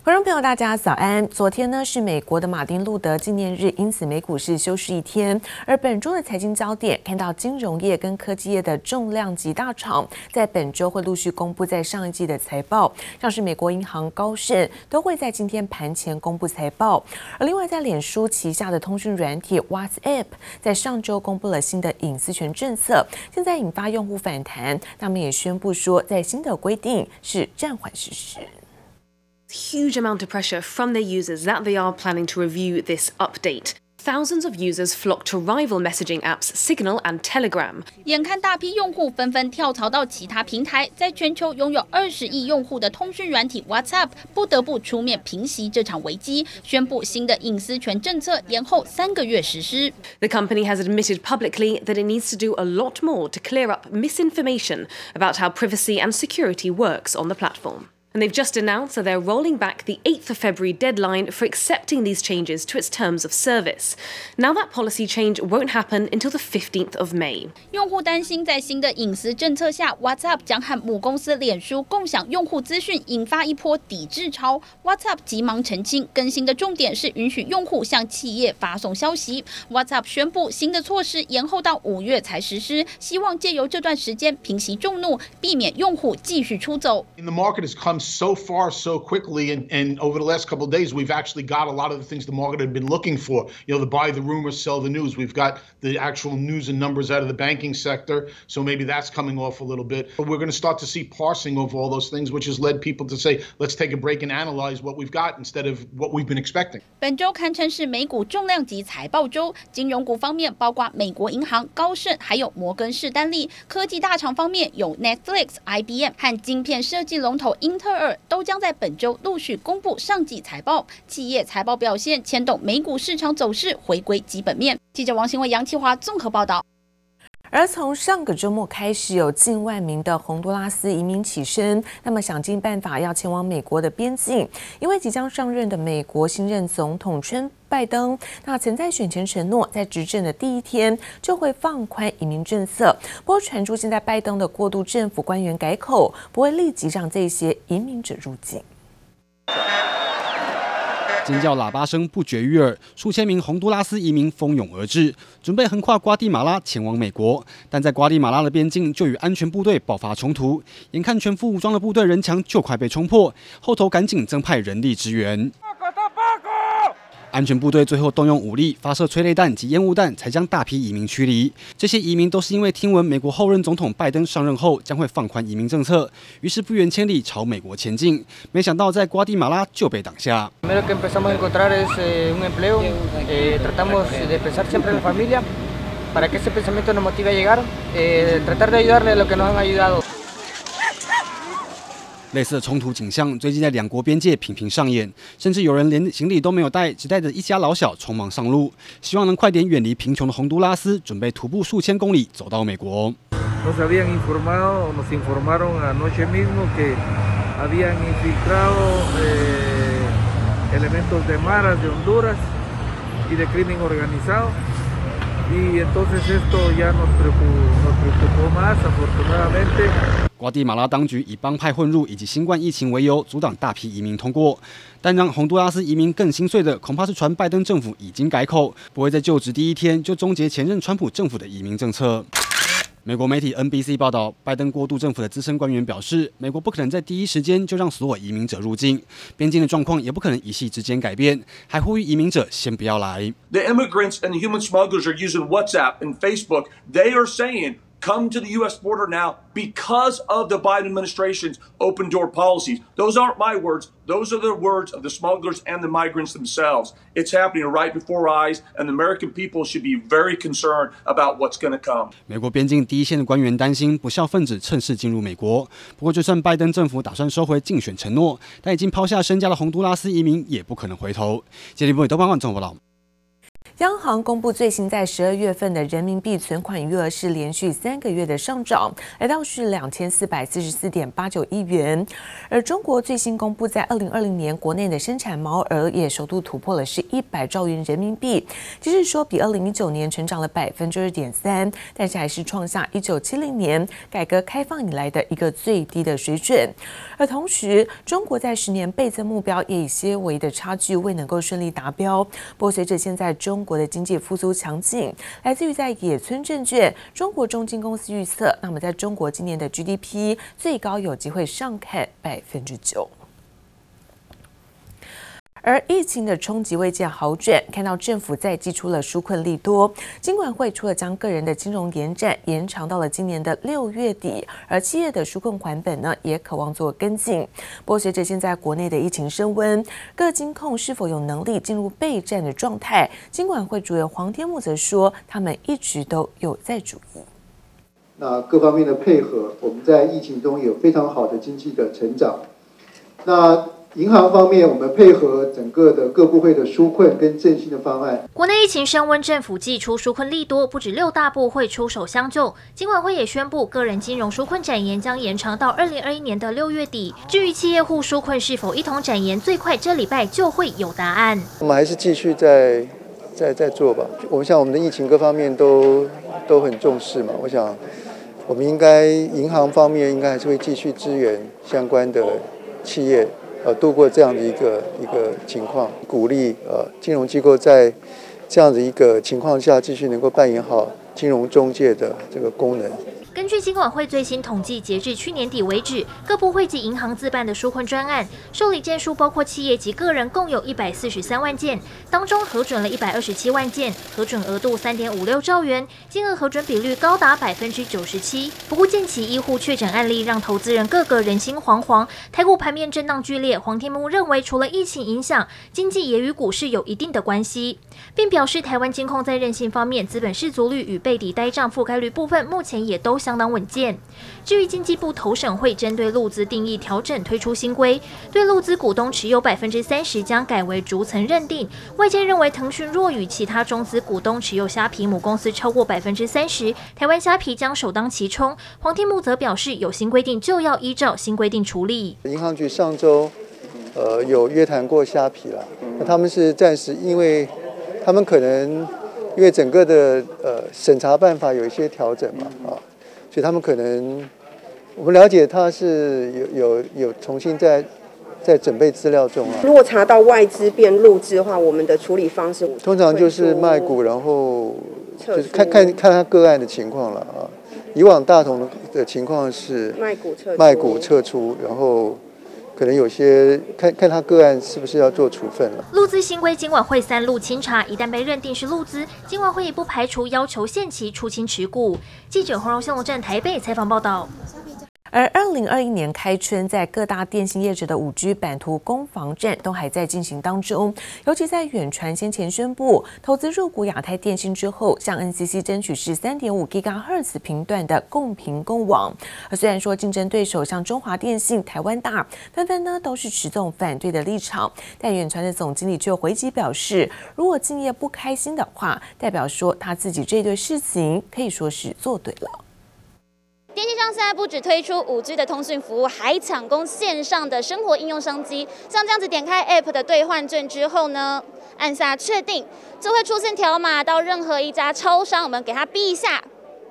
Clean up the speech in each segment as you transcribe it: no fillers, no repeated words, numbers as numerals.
觀眾朋友，大家早安。昨天呢是美國的馬丁路德紀念日，因此美股是休市一天。而本周的財經焦點，看到金融業跟科技業的重量級大廠，在本周會陸續公布在上一季的財報，像是美國銀行、高盛都會在今天盤前公布財報。而另外，在臉書旗下的通訊軟體 WhatsApp， 在上周公布了新的隱私權政策，現在引發用戶反彈。他們也宣布說，在新的規定是暫緩實施。 Huge amount of pressure from their users that they are planning to review this update. Thousands of users flock to rival messaging apps Signal and Telegram. 眼看大批用戶紛紛跳槽到其他平台，在全球擁有20億用戶的通訊軟體 WhatsApp 不得不出面平息這場危機，宣布新的隱私權政策延後3個月實施。 The company has admitted publicly that it needs to do a lot more to clear up misinformation about how privacy and security works on the platform. And they've just announced that they're rolling back the 8th of February deadline for accepting these changes to its terms of service. Now that policy change won't happen until the 15th of May. 用戶擔心在新的隱私政策下 ，WhatsApp 將和母公司臉書共享用戶資訊，引發一波抵制潮。WhatsApp 急忙澄清，更新的重點是允許用戶向企業發送消息。WhatsApp 宣布新的措施延後到5月才實施，希望借由這段時間平息眾怒，避免用戶繼續出走。 The market has come so far so quickly, and over the last couple of days we've actually got a lot of the things the market had been looking for. You know, the buy the rumor, sell the news. We've got the actual news and numbers out of the banking sector, so maybe that's coming off a little bit. But we're going to start to see parsing of all those things, which has led people to say, let's take a break and analyze what we've got instead of what we've been expecting. 本周堪稱是美股重量級財報周，金融股方面包括美國銀行、高盛，還有摩根士丹利；科技大廠方面有 Netflix、IBM 和晶片設計龍頭英特爾。都將在本周陸續公布上季財報，企業財報表現牽動美股市場走勢回歸基本面。記者王新偉、楊啟華綜合報道。 而從上個周末開始，有近萬名的洪都拉斯移民起身，那麼想盡辦法要前往美國的邊境，因為即將上任的美國新任總統川拜登，那曾在選前承諾，在執政的第一天就會放寬移民政策。不過傳出現在拜登的過渡政府官員改口，不會立即讓這些移民者入境。 尖叫喇叭聲不絕於耳，數千名洪都拉斯移民蜂擁而至，準備橫跨瓜地馬拉前往美國。但在瓜地馬拉的邊境就與安全部隊爆發衝突，眼看全副武裝的部隊人牆就快被衝破，後頭趕緊增派人力支援。安全部隊最後動用武力，發射催淚彈及煙霧彈，才將大批移民驅離。這些移民都是因為聽聞美國後任總統拜登上任後將會放寬移民政策，於是不遠千里朝美國前進。沒想到在瓜地馬拉就被擋下。類似的衝突景象最近在兩國邊界頻頻上演，甚至有人連行李都沒有帶，只帶着一家老小匆忙上路，希望能快點遠離貧窮的洪都拉斯，準備徒步數千公里走到美國。瓜地馬拉當局以幫派混入以及新冠疫情為由，阻擋大批移民通過。但讓洪都拉斯移民更心碎的，恐怕是傳拜登政府已經改口，不會在就職第一天就終結前任川普政府的移民政策。美國媒體 NBC 報道，拜登過渡政府的資深官員表示，美國不可能在第一時間就讓所有移民者入境，邊境的狀況也不可能一夕之間改變，還呼籲移民者先不要來。 The immigrants and the human smugglers are using WhatsApp and Facebook. They are saying, come to the U.S. border now because of the Biden administration's open door policies. Those aren't my words. Those are the words of the smugglers and the migrants themselves. It's happening right before our eyes, and the American people should be very concerned about what's going to come. 美國邊境第一線的官員擔心不肖分子趁勢進入美國。不過，就算拜登政府打算收回競選承諾，但已經拋下身家的洪都拉斯移民也不可能回頭。傑里波里東方網綜合報道。 央行公布最新在12月份的人民幣存款餘額是連續3個月的上漲，來到是2444.89億元。而中國最新公布在2020年國內的生產毛額也首度突破了是100兆元人民幣，即是說比2019年成長了2.3%，但是還是創下1970年改革開放以來的一個最低的水準。而同時，中國在10年倍增目標也以些微的差距未能夠順利達標。不過，隨着現在中國的經濟復甦強勁，來自於在野村證券中國中金公司預測，那麼在中國今年的 GDP 最高有機會上看9%。而疫情的衝擊未見好轉，看到政府再祭出了紓困利多，金管會除了將個人的金融延展延長到了今年的6月底，而企業的紓困還本呢也渴望做跟進。不過隨着現在國內的疫情升溫，各金控是否有能力進入備戰的狀態？金管會主委黃天牧則說，他們一直都有在注意。 那各方面的配合，我們在疫情中有非常好的經濟的成長。那銀行方面，我們配合整個的各部會的紓困跟振興的方案。 國內疫情升溫，政府祭出紓困利多，不止6大部會出手相救，金管會也宣布，個人金融紓困展延將延長到2021年的6月底。至於企業戶紓困是否一同展延，最快這禮拜就會有答案。 我們還是繼續再做吧。我想我們的疫情各方面都很重視嘛。我想我們應該銀行方面應該還是會繼續支援相關的企業。度過這樣的一個情況，鼓勵金融機構在這樣的一個情況下繼續能夠扮演好金融中介的這個功能。 根據金管會最新統計，截至去年底為止，各部會及銀行自辦的紓困專案受理件數，包括企業及個人，共有143萬件，當中核准了127萬件，核准額度3.56兆元，金額核准比率高達97%。不過，近期醫護確診案例讓投資人個個人心惶惶，台股盤面震盪劇烈。黃天牧認為，除了疫情影響，經濟也與股市有一定的關係，並表示台灣金控在韌性方面，資本適足率與背抵呆賬覆蓋率部分，目前也都相當穩健。至於經濟部投審會針對陸資定義調整推出新規，對陸資股東持有30%將改為逐層認定。外界認為騰訊若與其他中資股東持有蝦皮母公司超過30%，台灣蝦皮將首當其衝。黃天牧則表示，有新規定就要依照新規定處理。 銀行局上周有約談過蝦皮了，那他們是暫時，因為他們可能因為整個的審查辦法有一些調整嘛所以他們可能，我們了解他是有重新在準備資料中啊。 如果查到外資變陸資的話，我們的處理方式通常就是賣股，然後就是看他個案的情況了啊。以往大同的情況是賣股撤出，然後可能有些看他個案是不是要做處分了。 陸資新規，金管會3路清查，一旦被認定是陸資，金管會也不排除要求限期出清持股。記者洪榮新龍站台北採訪報道。 而2021年開春，在各大電信業者的5G 版圖攻防戰都還在進行當中。尤其在遠傳先前宣布投資入股亞太電信之後，向 NCC 爭取是3.5 GHz 頻段的共頻共網。而雖然說競爭對手像中華電信、台灣大紛紛呢都是持這種反對的立場，但遠傳的總經理卻回擊表示，如果競業不開心的話，代表說他自己這對事情可以說是做對了。 電信商現在不只推出5G 的通訊服務，還搶攻線上的生活應用商機。像這樣子點開 App 的兌換券之後呢，按下確定，就會出現條碼到任何一家超商，我們給它嗶一下，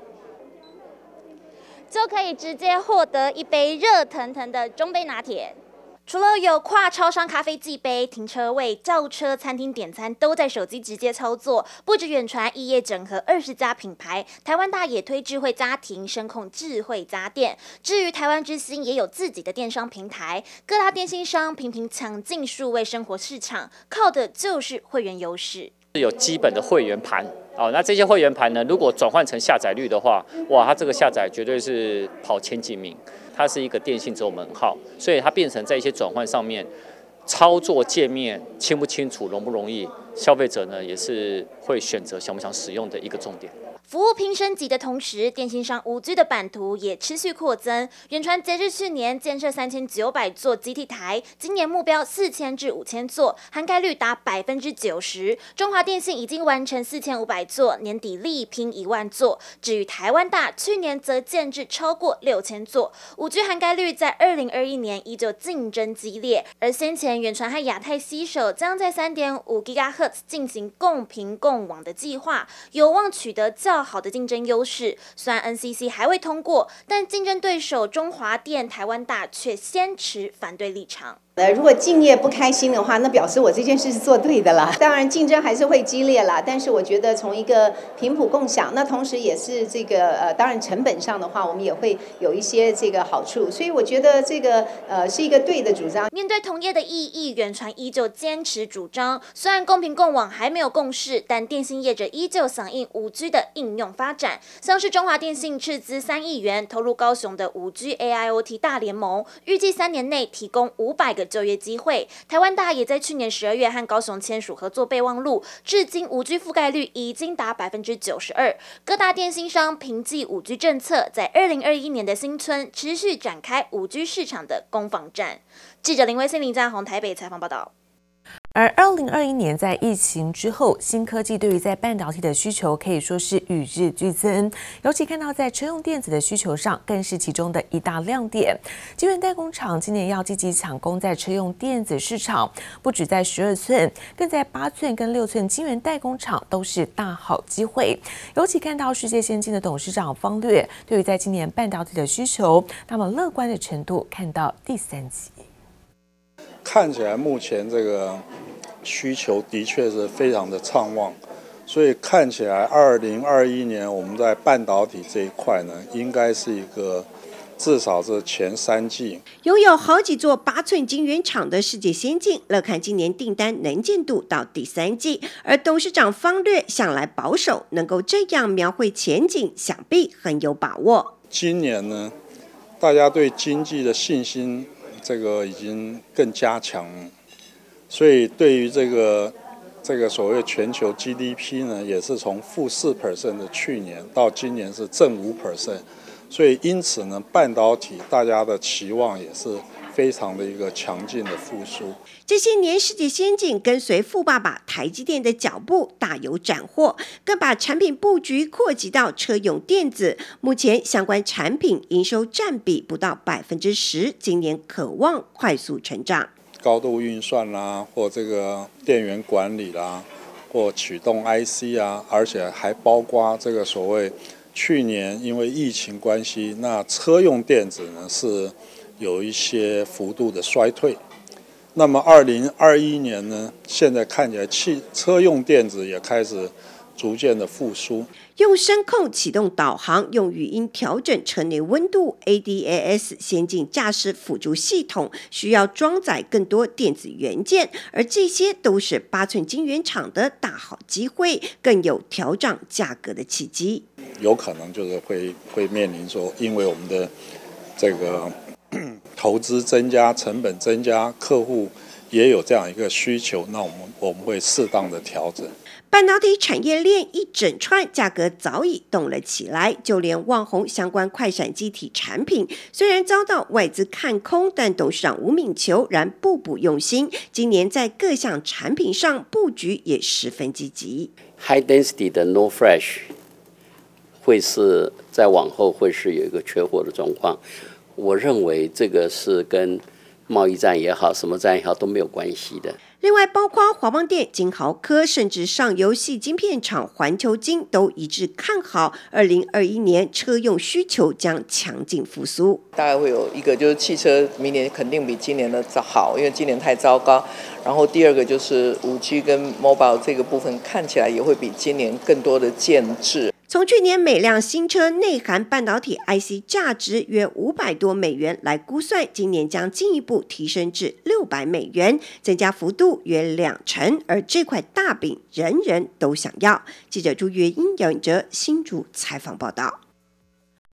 就可以直接獲得一杯熱騰騰的中杯拿鐵。除了有跨超商咖啡寄杯、停車位、叫車、餐廳點餐都在手機直接操作，不止遠傳，異業整合20家品牌，台灣大也推智慧家庭、聲控智慧家電。至於台灣之星也有自己的電商平台，各大電信商頻頻搶進數位生活市場，靠的就是會員優勢。 有基本的會員盤那這些會員盤呢，如果轉換成下載率的話，哇，它這個下載絕對是跑前幾名。它是一個電信走門號，所以它變成在一些轉換上面，操作界面清不清楚、容不容易，消費者呢也是會選擇想不想使用的一個重點。 服務拼升級的同時，電信商5G 的版圖也持續擴增。遠傳截至去年建設3900座基地台，今年目標4000至5000座，涵蓋率達90%。中華電信已經完成4500座，年底力拼1萬座。至於台灣大，去年則建置超過6000座。5G 涵蓋率在2021年依舊競爭激烈，而先前遠傳和亞太攜手，將在3.5 GHz 進行共頻共網的計劃，有望取得較好的競爭優勢。雖然 NCC 還未通過，但競爭對手中華電、台灣大卻先持反對立場。 如果競業不開心的話，那表示我這件事是做對的啦。當然競爭還是會激烈啦，但是我覺得從一個頻譜共享，那同時也是這個當然成本上的話，我們也會有一些這個好處。所以我覺得這個是一個對的主張。 面對同業的異議，遠傳依舊堅持主張，雖然公平共網還沒有共識，但電信業者依舊響應5G 的應用發展。像是中華電信斥資3億元投入高雄的5G AIoT 大聯盟，預計3年內提供500個就業機會。台灣大也在去年12月和高雄簽署合作備忘錄，至今5G 覆蓋率已經達92%。各大電信商憑借5G 政策，在2021年的新春持續展開5G 市場的攻防戰。記者林威信、林占宏台北採訪報道。 而2021年在疫情之後，新科技對於在半導體的需求可以說是與日俱增，尤其看到在車用電子的需求上，更是其中的一大亮點。晶圓代工廠今年要積極搶攻在車用電子市場，不止在12寸，更在8寸跟6寸晶圓代工廠都是大好機會。尤其看到世界先進的董事長方略對於在今年半導體的需求，那麼樂觀的程度看到第3季。 看起來目前這個需求的確是非常的暢旺，所以看起來2021年我們在半導體這一塊呢，應該是一個至少是前3季。 擁有好幾座8寸晶圓廠的世界先進，樂看今年訂單能見度到第3季，而董事長方略向來保守，能夠這樣描繪前景，想必很有把握。 今年呢，大家對經濟的信心這個已經更加強了，所以對於這個所謂全球 GDP 呢，也是從-4% 的去年到今年是正5%，所以因此呢，半導體大家的期望也是非常的一個強勁的復甦。 這些年世界先進跟隨富爸爸台積電的腳步，大有斬獲，更把產品布局擴及到車用電子。目前相關產品營收佔比不到10%，今年可望快速成長。 高度運算啦，或這個電源管理啦，或驅動 IC 啊，而且還包括這個所謂去年因為疫情關係，那車用電子呢是有一些幅度的衰退。那麼2021年呢，現在看起來車用電子也開始逐漸的復甦。 用聲控啟動導航，用語音調整車內溫度 ，ADAS 先進駕駛輔助系統需要裝載更多電子元件，而這些都是8寸晶圓廠的大好機會，更有調漲價格的契機。 有可能就是會面臨說，因為我們的這個投資增加、成本增加，客戶也有這樣一個需求，那我們會適當的調整。 半導體產業鏈一整串價格早已動了起來，就連旺宏相關快閃記憶體產品，雖然遭到外資看空，但董事長吳敏球仍步步用心，今年在各項產品上布局也十分積極。 High density 的 NOR Flash 會是在往後會是有一個缺貨的狀況，我認為這個是跟貿易戰也好，什麼戰也好都沒有關係的。 另外，包括華邦電、晶豪科，甚至上游矽晶片廠環球晶都一致看好2021年車用需求將強勁復甦。 大概會有一個就是汽車明年肯定比今年的好，因為今年太糟糕。然後第二個就是 5G 跟 Mobile 這個部分看起來也會比今年更多的建置。 從去年每輛新車內含半導體 IC 價值約$500多來估算，今年將進一步提升至$600，增加幅度約2成，而這塊大餅人人都想要。記者朱月英、姚允哲新竹採訪報道。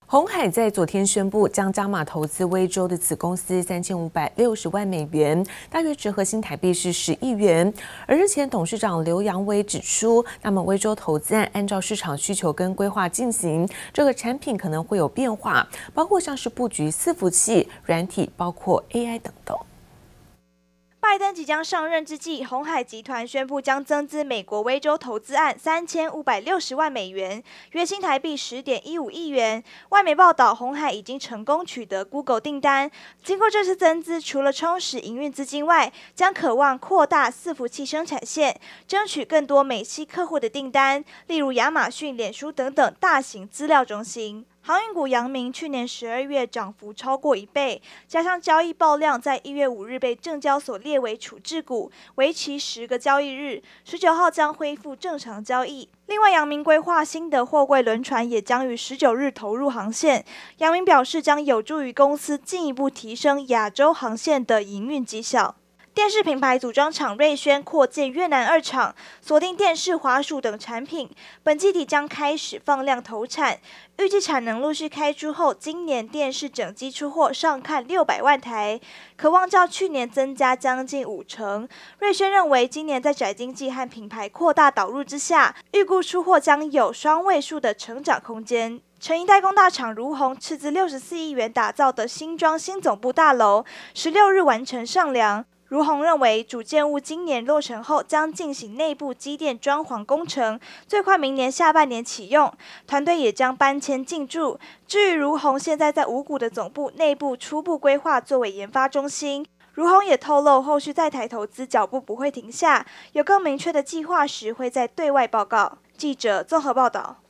鴻海在昨天宣布將加碼投資威州的子公司3560萬美元，大約折合新台幣是10億元。而日前董事長劉揚偉指出，那麼威州投資案按照市場需求跟規劃進行，這個產品可能會有變化，包括像是布局伺服器、軟體，包括 AI 等等。 拜登即將上任之際，鴻海集團宣布將增資美國威州投資案3560萬美元，約新台幣10.15億元。外媒報道，鴻海已經成功取得 Google 訂單。經過這次增資，除了充實營運資金外，將渴望擴大伺服器生產線，爭取更多美系客戶的訂單，例如亞馬遜、臉書等等大型資料中心。航運股陽明去年12月漲幅超過1倍，加上交易爆量在1月5日被證交所列為處置股，為期10個交易日，19號將恢復正常交易。另外，陽明規劃新的貨櫃輪船也將於19日投入航線。陽明表示，將有助於公司進一步提升亞洲航線的營運績效。電視品牌組裝廠瑞軒擴建越南2廠，鎖定電視、滑鼠等產品，本季底將開始放量投產，預計產能陸續開出後，今年電視整機出貨上看600萬台，可望較去年增加將近50%。瑞軒認為，今年在宅經濟和品牌擴大導入之下，預估出貨將有雙位數的成長空間。成衣代工大廠儒鴻斥資64億元打造的新莊新總部大樓，16日完成上樑。儒鴻認為，主建物今年落成後將進行內部機電裝潢工程，最快明年下半年啟用。團隊也將搬遷進駐。至於儒鴻現在在五股的總部內部初步規劃作為研發中心。儒鴻也透露，後續在台投資腳步不會停下，有更明確的計劃時會在對外報告。記者綜合報道。